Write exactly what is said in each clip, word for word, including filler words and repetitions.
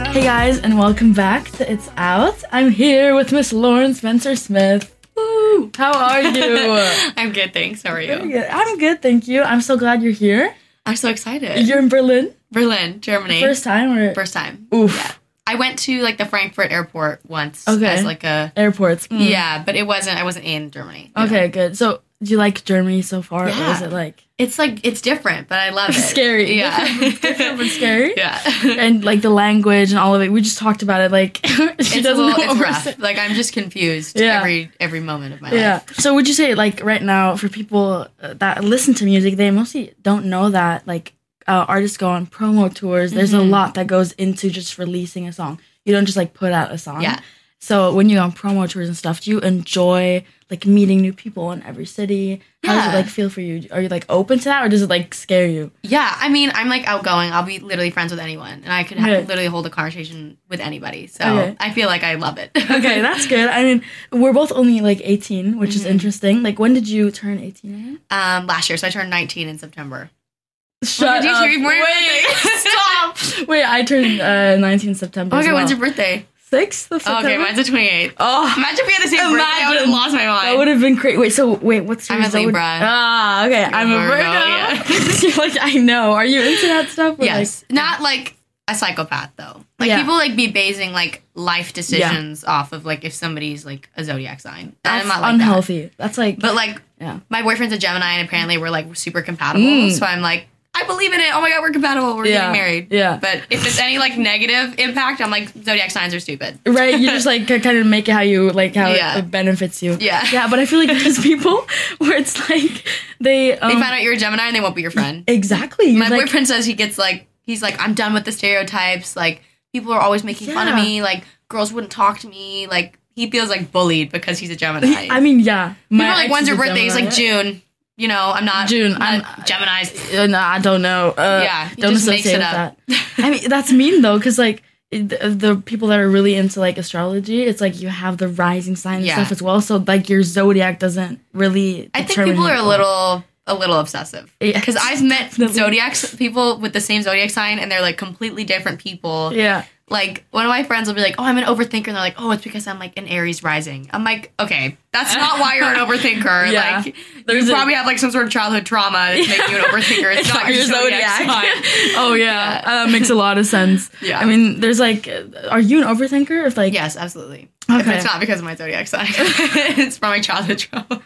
Hey guys, and welcome back to It's Out. I'm here with Miss Lauren Spencer Smith. Woo! How are you? I'm good, thanks. How are you? Very good. I'm good, thank you. I'm so glad you're here. I'm so excited. You're in Berlin? Berlin, Germany. First time or? First time. Oof. Yeah. I went to like the Frankfurt airport once Okay. as like a Airports. Mm. yeah, but it wasn't. I wasn't in Germany. Okay, know. Good. So, do you like Germany so far, Yeah. or is it like It's like it's different, but I love it. scary? Yeah, Different, different but scary. Yeah, And like the language and all of it. We just talked about it. Like she it's a doesn't little, know it's what we're rough. saying. Like I'm just confused Yeah. every every moment of my Yeah. life. So would you say like right now for people uh, that listen to music, they mostly don't know that like uh, artists go on promo tours. There's Mhm. a lot that goes into just releasing a song. You don't just like put out a song. Yeah. So when you go on promo tours and stuff, do you enjoy like meeting new people in every city? How does it Yeah. like feel for you? Are you like open to that, or does it like scare you? Yeah, I mean, I'm like outgoing. I'll be literally friends with anyone, and I could ha- Okay. literally hold a conversation with anybody. So Okay. I feel like I love it. Okay, that's good. I mean, we're both only like eighteen, which is Mhm. interesting. Like, when did you turn eighteen again? um last year. So I turned nineteen in September. Shut did you up. hear more Wait, birthday? stop. Wait, I turned uh, nineteen September. as Okay, well. when's your birthday? sixth of Oh, September? okay, mine's the twenty-eighth. Oh, Imagine if we had the same birthday. I would have Imagine. lost my mind. that would have been great. Wait, so wait, what's your I'm a zodiac- Libra. Ah, okay, I'm a Virgo, Virgo. yeah. You're like, I know. Are you into that stuff? Or Yes. Not like a psychopath, though. Like, Yeah. people, like, be basing, like, life decisions off of, like, if somebody's, like, a zodiac sign. And Like, I'm that's not like unhealthy. That's like, that. But, like, yeah. my boyfriend's a Gemini, and apparently we're, like, super compatible. Mm. So I'm like, I believe in it. Oh, my God, we're compatible. We're Yeah. getting married. Yeah. But if it's any, like, negative impact, I'm like, zodiac signs are stupid. Right, you just like kind of make it how you like how Yeah. it benefits you. Yeah. yeah. But I feel like there's people where it's like they um, They find out you're a Gemini, and they won't be your friend. exactly. My like, boyfriend says he gets like he's like I'm done with the stereotypes. Like people are always making fun of Yeah. me. Like girls wouldn't talk to me. Like he feels like bullied because he's a Gemini. I mean, yeah. People are ex like, when's is your a birthday? He's like Gemini. June. You know, I'm not June. I'm, I'm- Gemini's. Uh, no, I don't know. Uh, Yeah, he don't just associate makes it with up. that. I mean, that's mean though, because like it- the, the people that are really into like astrology, it's like you have the rising sign and Yeah. stuff as well. So like your zodiac doesn't really. I think determine people who are a you little a little obsessive Yeah, because I've met definitely. zodiacs people with the same zodiac sign and they're like completely different people. Yeah. Like one of my friends will be like, "Oh, I'm an overthinker," and they're like, "Oh, it's because I'm like an Aries rising." I'm like, "Okay, that's not why you're an overthinker. Yeah. Like, There's you a- probably have like some sort of childhood trauma that's making you an overthinker. It's, not your zodiac, sign." oh yeah, Uh, that makes a lot of sense. Yeah. I mean, there's like, uh, are you an overthinker? If like, Yes, absolutely. If Okay. it's not because of my zodiac sign, it's from my childhood trauma.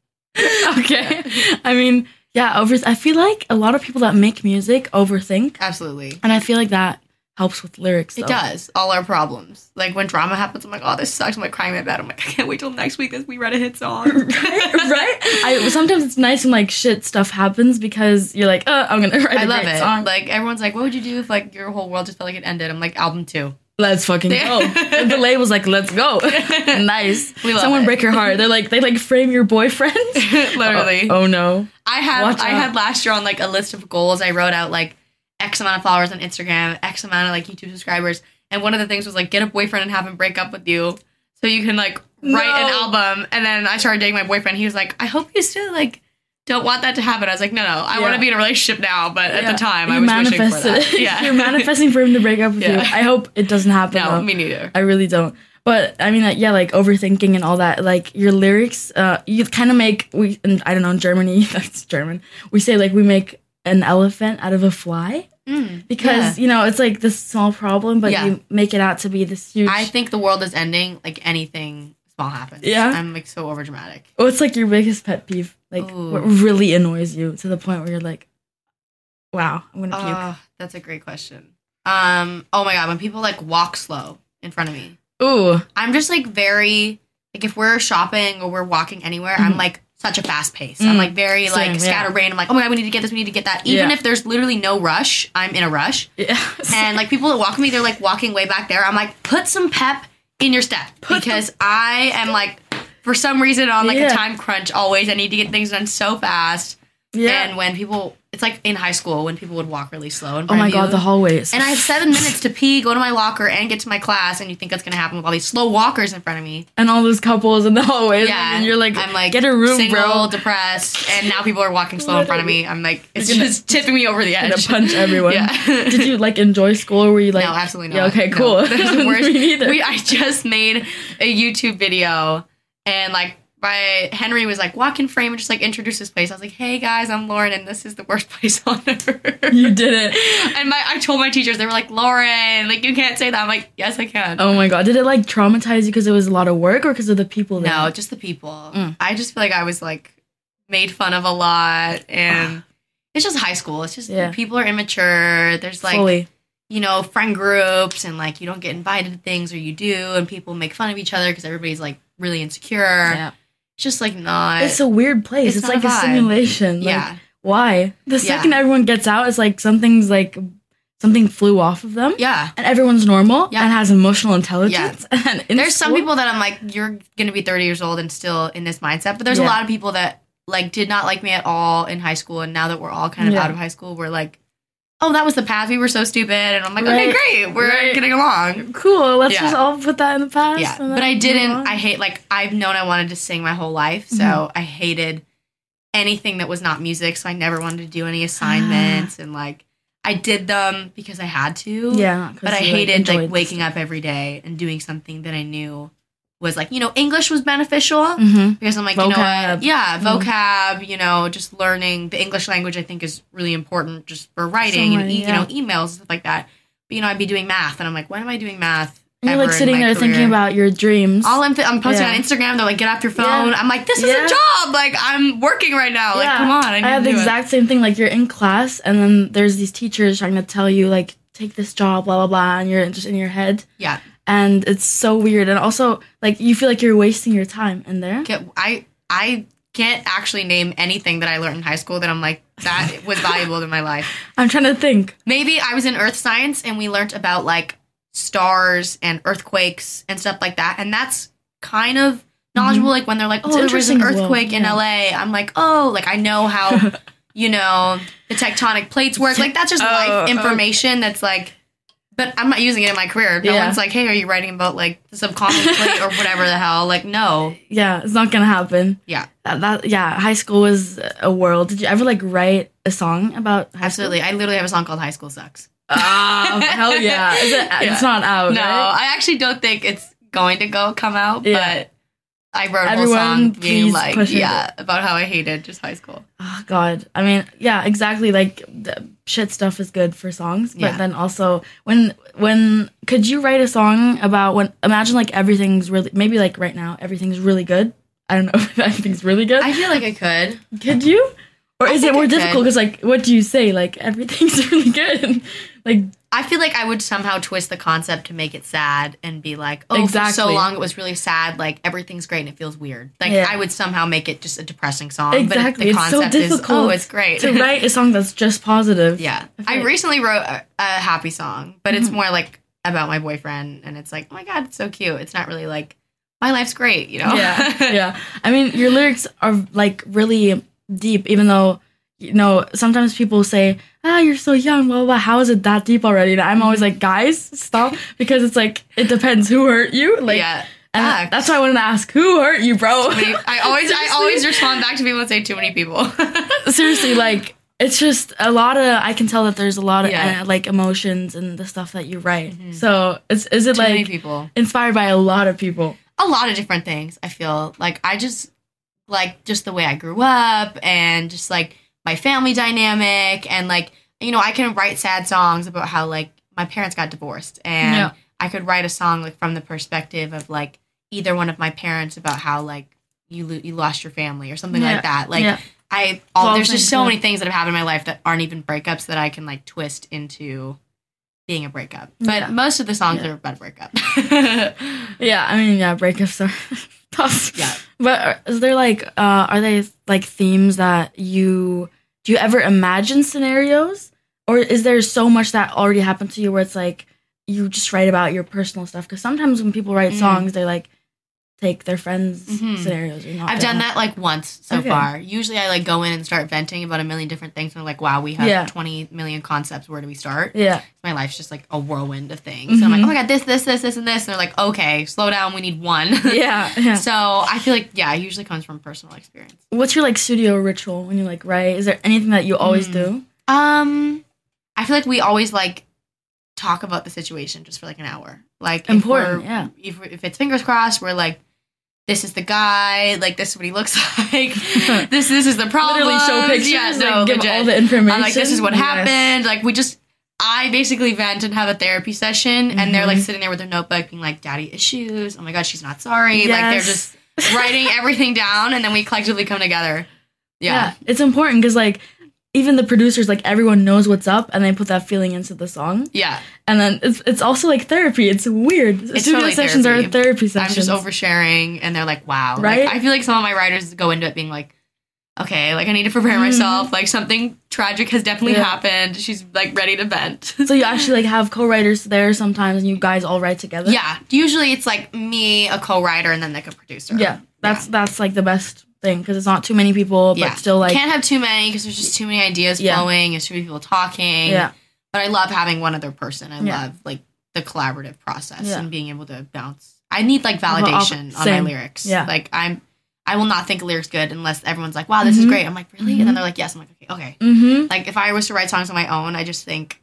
okay. I mean, yeah, over. I feel like a lot of people that make music overthink, Absolutely. and I feel like that helps with lyrics. It though. does. All our problems. Like when drama happens, I'm like, oh, this sucks. I'm like crying in my bed. I'm like, I can't wait till next week as we write a hit song. right? right? I sometimes it's nice when like shit stuff happens because you're like, uh, I'm gonna write a I love great it. song. Like everyone's like, what would you do if like your whole world just felt like it ended? I'm like, album two. Let's fucking go. And the label's like, let's go. Nice. We love Someone it. break your heart. They're like, they like frame your boyfriend. Literally. Oh, oh no. I had Watch I out. had last year on like a list of goals. I wrote out like X amount of followers on Instagram, X amount of like YouTube subscribers, and one of the things was like get a boyfriend and have him break up with you, so you can like write an No. album. And then I started dating my boyfriend. He was like, I hope you still like don't want that to happen. I was like, no, no, I Yeah. want to be in a relationship now. But at Yeah. the time, I You was wishing for manifested- that. Yeah, You're manifesting for him to break up with you. Yeah. I hope it doesn't happen. No, though. me neither. I really don't. But I mean, like, yeah, like overthinking and all that. Like your lyrics, uh, you kind of make we. And I don't know in Germany. That's German. We say like we make an elephant out of a fly Mm, because yeah. you know it's like this small problem, but Yeah. you make it out to be this huge. I think the world is ending. Like anything small happens. Yeah? I'm like so overdramatic. What's like your biggest pet peeve? Like Ooh. what really annoys you to the point where you're like, wow, I'm gonna puke. Oh, that's a great question. Um. Oh my god, when people like walk slow in front of me, Ooh, I'm just like very like if we're shopping or we're walking anywhere, I'm Mhm. like such a fast pace. Mm. I'm like very Same, like yeah. scatterbrained. I'm like, oh my god, we need to get this, we need to get that. Even Yeah. if there's literally no rush, I'm in a rush. yeah. And like people that walk with me, they're like walking way back there. I'm like, put some pep in your step Put because I am like for some reason on like Yeah. a time crunch always. I need to get things done so fast. Yeah. And when people, it's like in high school when people would walk really slow. In Oh front my of god, you. the hallways. And I have seven minutes to pee, go to my locker, and get to my class, and you think that's gonna happen with all these slow walkers in front of me. And all those couples in the hallways. Yeah, And you're like, I'm like, get a room, single, bro. depressed, and now people are walking slow in front of me. I'm like, it's You're gonna- just tipping me over the Gonna edge. punch everyone. Yeah. Did you like enjoy school, or were you like? No, absolutely Yeah, not. okay, No. cool. That's the worst. Me neither. We, I just made a YouTube video, and like, my Henry was like, walk in frame and just like introduce this place. I was like, hey guys, I'm Lauren, and this is the worst place on earth. You did it. And my, I told my teachers, they were like, Lauren, like you can't say that. I'm like, yes, I can. Oh my god, did it like traumatize you because it was a lot of work, or because of the people there? No, just the people. Mm. I just feel like I was like made fun of a lot, and it's just high school. It's just Yeah. people are immature. There's like Fully. you know friend groups, and like you don't get invited to things, or you do, and people make fun of each other because everybody's like really insecure. Yeah. It's just like not. It's a weird place. It's It's, not like a a, vibe. simulation. Like, Yeah. why? The Yeah. second everyone gets out, it's like something's like something flew off of them. yeah. And everyone's normal Yeah. and has emotional intelligence. And in There's some school- people that I'm like, you're gonna be thirty years old and still in this mindset. But there's Yeah. a lot of people that like did not like me at all in high school, and now that we're all kind of Yeah. out of high school, we're like, oh, that was the past. We were so stupid, and I'm like, okay, Right. great, we're Right. getting along. Cool. Let's Yeah. just all put that in the past. Yeah, and but then I move didn't. on. I hate like I've known I wanted to sing my whole life, so Mhm. I hated anything that was not music. So I never wanted to do any assignments, and like I did them because I had to. Yeah. not 'cause but I you, like, hated like, enjoyed waking up every day and doing something that I knew was like you know English was beneficial. Mm-hmm. Because I'm like, you know Vocab. what? Yeah, Mhm. vocab, you know, just learning the English language, I think is really important just for writing and, Songwriting, e- yeah. you know, emails, stuff like that. But, you know, I'd be doing math, and I'm like, when am I doing math? You're ever like in sitting my there thinking career? about your dreams. All I'm, I'm posting Yeah. on Instagram, they're like, get off your phone. Yeah. I'm like, this is Yeah. a job. Like, I'm working right now. Like, Yeah. come on. I, need I have to the do exact same thing. Like you're in class, and then there's these teachers trying to tell you like take this job, blah blah blah, and you're just in your head. it. Yeah. And it's so weird. And also, like you feel like you're wasting your time in there. Get, I, I can't actually name anything that I learned in high school that I'm like, that was valuable in my life. I'm trying to think. Maybe I was in earth science and we learned about like stars and earthquakes and stuff like that. And that's kind of knowledgeable. Like when they're like, oh, It's there was an interesting as well, earthquake in yeah. L A. I'm like, oh, like I know how, you know, the tectonic plates work. Like that's just Oh, life oh. information that's like, but I'm not using it in my career. No Yeah. one's like, hey, are you writing about like the subconscious plate or whatever the hell? Like, no. Yeah, it's not gonna happen. Yeah, That, that yeah, high school was a world. Did you ever like write a song about high absolutely. I literally have a song called High School Sucks. School? Oh, hell yeah. Is it, Yeah. It's not out, No, right? I actually don't think it's going to go come out, Yeah. but I wrote a whole Everyone, song being please like, push it. yeah, about how I hated just high school. Oh god. I mean, yeah, exactly. Like the shit stuff is good for songs, but Yeah. then also when when could you write a song about when imagine like everything's really maybe like right now everything's really good. I don't know if everything's really good. I feel like I could. Could you? Or I is it think more I difficult? could. Because like, what do you say? Like everything's really good. like I feel like I would somehow twist the concept to make it sad and be like, oh, for so Exactly. long it was really sad. Like everything's great and it feels weird. Like Yeah. I would somehow make it just a depressing song. Exactly. But It's the so concept is, difficult oh, it's great. to write a song that's just positive. Yeah. I feel I like- recently wrote a, a happy song, but it's Mhm. more like about my boyfriend. And it's like, oh my God, it's so cute. It's not really like, my life's great, you know? yeah, yeah. I mean, your lyrics are like really deep, even though you know sometimes people say, "Ah, you're so young." Blah blah. blah. How is it that deep already? And I'm always like, guys, stop, because it's like it depends who hurt you. Like, yeah. and facts. that's why I wanted to ask, who hurt you, bro? Too many- I always, I Seriously? always respond back to people and say too many people. Seriously, like it's just a lot of. I can tell that there's a lot of Yeah. uh, like emotions and the stuff that you write. Mhm. So it's is it Too many like people. inspired by a lot of people? A lot of different things. I feel like I just like just the way I grew up and just like my family dynamic and like you know I can write sad songs about how like my parents got divorced and Yeah. I could write a song like from the perspective of like either one of my parents about how like you lo- you lost your family or something Yeah. like that. Like Yeah. I all All there's just things, so yeah. many things that have happened in my life that aren't even breakups that I can like twist into being a breakup. But Yeah. most of the songs Yeah. are about a breakup. Yeah, I mean, yeah, breakups are tough. Yeah. But are- is there like, uh, are they like themes that you, do you ever imagine scenarios? Or is there so much that already happened to you where it's like, you just write about your personal stuff? Because sometimes when people write Mm. songs, they like take their friends' Mhm. scenarios. Or not I've their done own. that like once so Okay. far. Usually I like go in and start venting about a million different things. And I'm like, wow, we have Yeah. twenty million concepts. Where do we start? Yeah. My life's just like a whirlwind of things. So I'm like, Mhm. oh my God, this, this, this, this, and this. And they're like, okay, slow down. We need one. Yeah. Yeah. So I feel like, yeah, it usually comes from personal experience. What's your like studio ritual when you like write? Is there anything that you always Mm. do? Um, I feel like we always like talk about the situation just for like an hour. Like Important, if we're, yeah. If, if it's fingers crossed, we're like, this is the guy. Like this is what he looks like. this this is the problem. Literally show pictures. Yeah, like, no, give legit. all the information. I'm like, this is what Yes. happened. Like we just. I basically vent and have a therapy session, and they're like Mhm. sitting there with their notebook, being like, "Daddy issues. Oh my God, she's not sorry." Like they're Yes. just writing everything down, and then we collectively come together. Yeah, It's important because like even the producers, like everyone knows what's up, and they put that feeling into the song. yeah. And then it's it's also like therapy. It's weird. It's Studio totally sessions therapy. are therapy I'm sessions. just oversharing, and they're like, "Wow!" Right? Like, I feel like some of my writers go into it being like, "Okay, like I need to prepare Mhm. myself. Like something tragic has definitely Yeah. happened." She's like ready to vent. So you actually like have co-writers there sometimes, and you guys all write together. Yeah, usually it's like me, a co-writer, and then like a producer. Yeah. That's that's like the best thing because it's not too many people, Yeah. but still like Can't have too many because there's just too many ideas Yeah. flowing. There's too many people talking. yeah. But I love having one other person. I Yeah. love like the collaborative process Yeah. and being able to bounce. I need like Off- validation on my same. lyrics. Yeah. Like I'm, I will not think a lyric's good unless everyone's like, "Wow, this is Mhm. great." I'm like, "Really?" Mhm. And then they're like, "Yes." I'm like, "Okay, okay." Mm-hmm. Like if I was to write songs on my own, I just think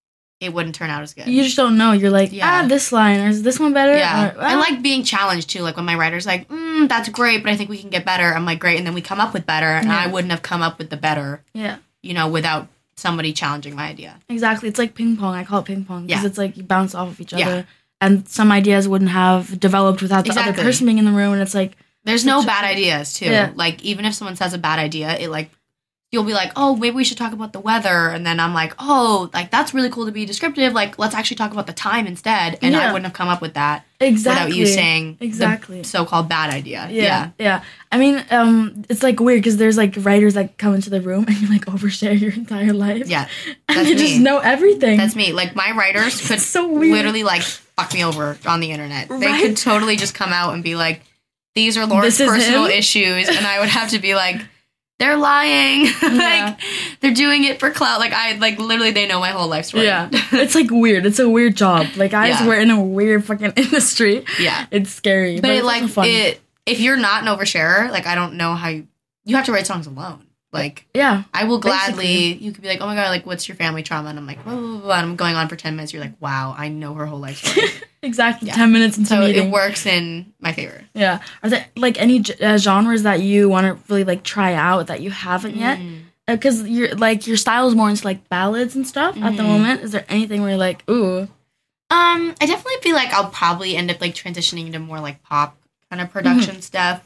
it wouldn't turn out as good. You just don't know. You're like, Yeah. ah, this line or is this one better? Yeah, Or, I ah. like being challenged too. Like when my writer's like, mm, "That's great, but I think we can get better." I'm like, "Great," and then we come up with better, and Yeah. I wouldn't have come up with the better, Yeah. you know, without somebody challenging my idea. Exactly. It's like ping pong. I call it ping pong because Yeah. it's like you bounce off of each Yeah. other, and some ideas wouldn't have developed without the other Exactly. person being in the room. And it's like, There's no Such a- bad ideas too. Yeah. Like even if someone says a bad idea, it like you'll be like, "Oh, maybe we should talk about the weather," and then I'm like, "Oh, like that's really cool to be descriptive. Like let's actually talk about the time instead." And I Yeah. wouldn't have come up with that exactly. without you saying Exactly. the so-called bad idea. Yeah, Yeah, yeah. I mean, um, it's like weird because there's like writers that come into the room and you like overshare your entire life. yeah. and That's you just me. know everything. That's me. Like my writers could It's so weird. literally like fuck me over on the internet. They Right? could totally just come out and be like, "These are Lauren's This is personal him? issues," and I would have to be like, "They're lying. Yeah. like they're doing it for clout." Like I like literally they know my whole life story. Yeah, it's like weird. It's a weird job. Like guys, Yeah. we're in a weird fucking industry. yeah. It's scary, But, but, it it's like also fun. it if you're not an oversharer, like I don't know how you you have to write songs alone. Like yeah, I will Basically. gladly you could be like, "Oh my God, like what's your family trauma?" And I'm like, blah, blah, blah, blah. And I'm going on for ten minutes. You're like, "Wow, I know her whole life story." exactly. Yeah. Ten minutes into So meeting. it works in my favor. Yeah. Are there like any g- uh, genres that you want to really like try out that you haven't yet? Mm. Because you're like your style is more into like ballads and stuff at the Mhm. moment. Is there anything where you're like, ooh, Um, I definitely feel like I'll probably end up like transitioning into more like pop kind of production Mm-hmm. stuff.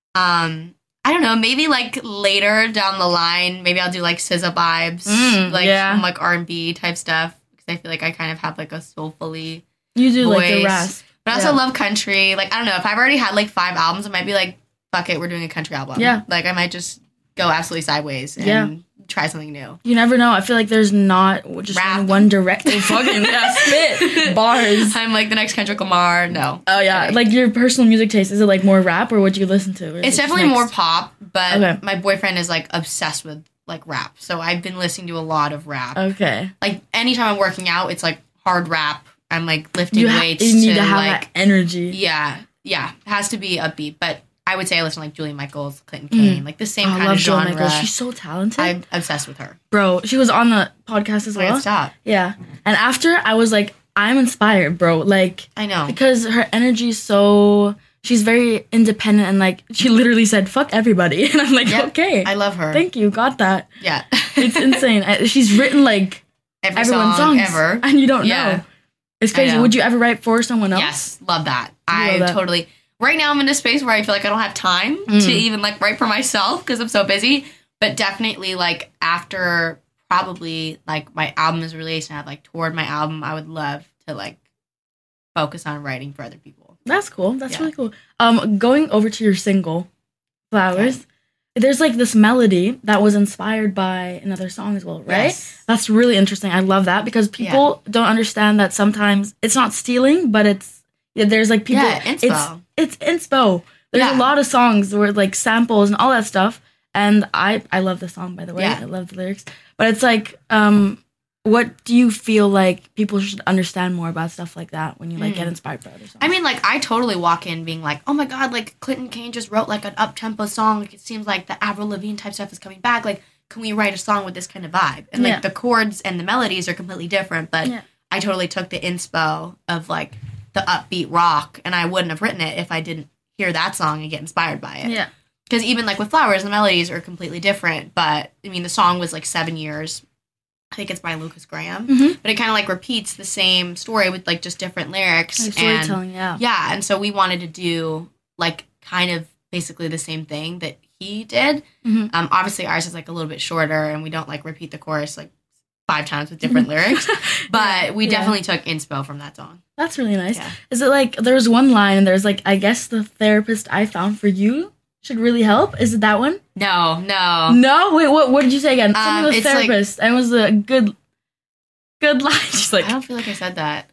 Um, I don't know, maybe like later down the line, maybe I'll do like S Z A vibes, Mm, like yeah. some like R and B type stuff because I feel like I kind of have like a soulfully, you do like the Voice. rasp? but I also Yeah. love country. Like I don't know if I've already had like five albums, I might be like, fuck it, we're doing a country album. Yeah. like I might just go absolutely sideways and Yeah. try something new. You never know. I feel like there's not just Rap. one direct. Oh, fucking yeah, spit bars. I'm like the next Kendrick Lamar. No, Oh yeah, Kidding. like your personal music taste. Is it like more rap or what you listen to? Or is It's it definitely mixed? more pop, but Okay. my boyfriend is like obsessed with like rap. So I've been listening to a lot of rap. Okay, Like anytime I'm working out, it's like hard rap. I'm like lifting you, ha- weights you need to, to have like that energy. yeah, yeah, it has to be upbeat. But I would say I listen to like Julie Michaels, Clinton Kane, like the same Oh, I kind love of Joan genre. Michaels. She's so talented, I'm obsessed with her. bro. She was on the podcast as I can't well. stop. Yeah, and after I was like, I'm inspired, bro. Like I know. because her energy is so. She's very independent and like she literally said "fuck everybody," and I'm like, Yep. okay, I love her. thank you, got that. yeah. It's insane. I- She's written like Every everyone's song songs ever. and you don't Yeah. know. It's I crazy. know. Would you ever write for someone else? Yes, love that. You I love that. totally. Right now, I'm in a space where I feel like I don't have time Mm. to even like write for myself because I'm so busy. But definitely, like after probably like my album is released and I've like toured my album, I would love to like focus on writing for other people. That's cool. That's Yeah. really cool. Um, going over to your single, Flowers, there's like this melody that was inspired by another song as well, right? Yes. That's really interesting. I love that because people don't understand that sometimes it's not stealing, but it's Yeah, there's like people. Yeah, inspo. It's it's inspo. There's Yeah. a lot of songs where like samples and all that stuff. And I I love the song, by the way. Yeah. I love the lyrics. But it's like, um, what do you feel like people should understand more about stuff like that when you like Mm. get inspired by other songs? I mean, like, I totally walk in being like, oh my god, like, Clinton Kane just wrote, like, an up-tempo song. Like, it seems like the Avril Lavigne type stuff is coming back. Like, can we write a song with this kind of vibe? And, like, Yeah. the chords and the melodies are completely different, but Yeah. I totally took the inspo of, like, the upbeat rock, and I wouldn't have written it if I didn't hear that song and get inspired by it. yeah. Because even, like, with Flowers, the melodies are completely different, but, I mean, the song was, like, seven years. I think it's by Lucas Graham. Mhm. But it kind of, like, repeats the same story with, like, just different lyrics. Like and storytelling, yeah. yeah, and so we wanted to do, like, kind of basically the same thing that he did. Mhm. Um, obviously, ours is, like, a little bit shorter, and we don't, like, repeat the chorus, like, five times with different lyrics. But we Yeah. definitely took inspo from that song. That's really nice. Yeah. Is it like there's one line and there's like I guess the therapist I found for you should really help? Is it that one? No, no. No, wait, what what did you say again? Um, Something with it's like- therapist. and it was a good good line. Just like I don't feel like I said that.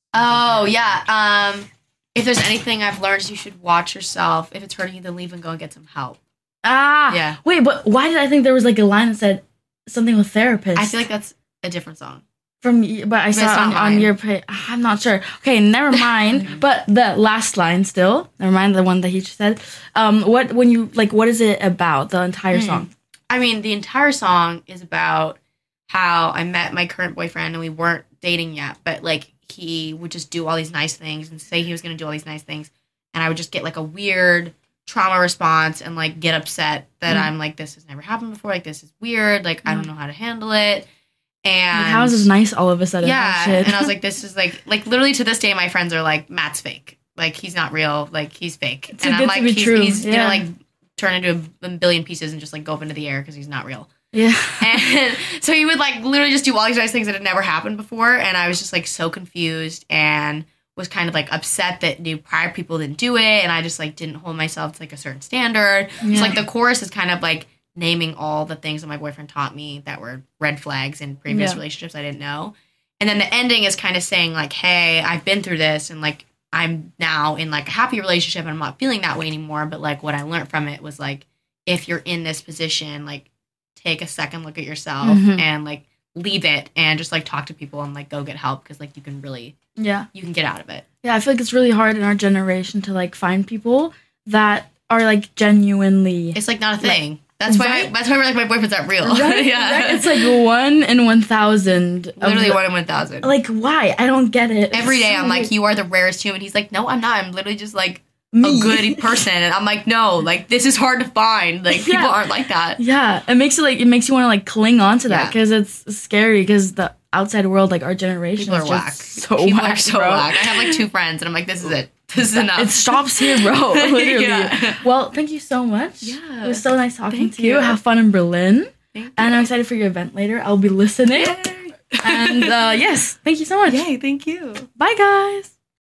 Oh, yeah. Um, if there's anything I've learned, you should watch yourself. If it's hurting you, then leave and go and get some help. ah Yeah. Wait, but why did I think there was like a line that said something with therapist? I feel like that's a different song. from y- but I it's saw it on, not on mine. your page. I'm not sure. Okay, never mind. But the last line still. Never mind the one that he just said. Um, what when you like what is it about the entire Hmm. song? I mean, the entire song is about how I met my current boyfriend and we weren't dating yet, but like he would just do all these nice things and say he was going to do all these nice things. And I would just get like a weird trauma response and like get upset that Mm. I'm like, this has never happened before. Like, this is weird. Like, I don't know how to handle it. And Like, how is this nice all of a sudden? yeah. Oh, shit. And I was like, this is like, like literally to this day, my friends are like, Matt's fake. Like, he's not real. Like, he's fake. Too and I'm good to like, be he's, true. he's Yeah. gonna like turn into a, a billion pieces and just like go up into the air because he's not real. yeah. And so he would like literally just do all these nice things that had never happened before. And I was just like so confused and was kind of like upset that new prior people didn't do it. And I just like didn't hold myself to like a certain standard. Yeah. So like the chorus is kind of like naming all the things that my boyfriend taught me that were red flags in previous Yeah. relationships I didn't know. And then the ending is kind of saying like, hey, I've been through this and like I'm now in like a happy relationship and I'm not feeling that way anymore. But like what I learned from it was like, if you're in this position, like take a second look at yourself Mhm. and like leave it and just like talk to people and like go get help because like you can really Yeah. you can get out of it. Yeah, I feel like it's really hard in our generation to like find people that are like genuinely It's like not a thing. That's why Right? that's why we're like my boyfriend's not real. right? yeah. Right? It's like one in one thousand. of literally the- one in one thousand. Like why? I don't get it. Every It's day so I'm like, weird. you are the rarest human. He's like, no, I'm not. I'm literally just like Me. a good person. And I'm like, no, like this is hard to find. Like people Yeah. aren't like that. Yeah, it makes it like it makes you want to like cling on to that Yeah. because it's scary because the outside world, like our generation, People are is whack. just so people whack, are so bro. whack. I have like two friends and I'm like, this is it. This is enough. It stops here, bro. Literally. Yeah. Well, thank you so much. Yeah. It was so nice talking Thank to you. you. Have fun in Berlin. Thank you. And I'm excited for your event later. I'll be listening. Yay. And uh, yes, thank you so much. Yay, thank you. Bye, guys.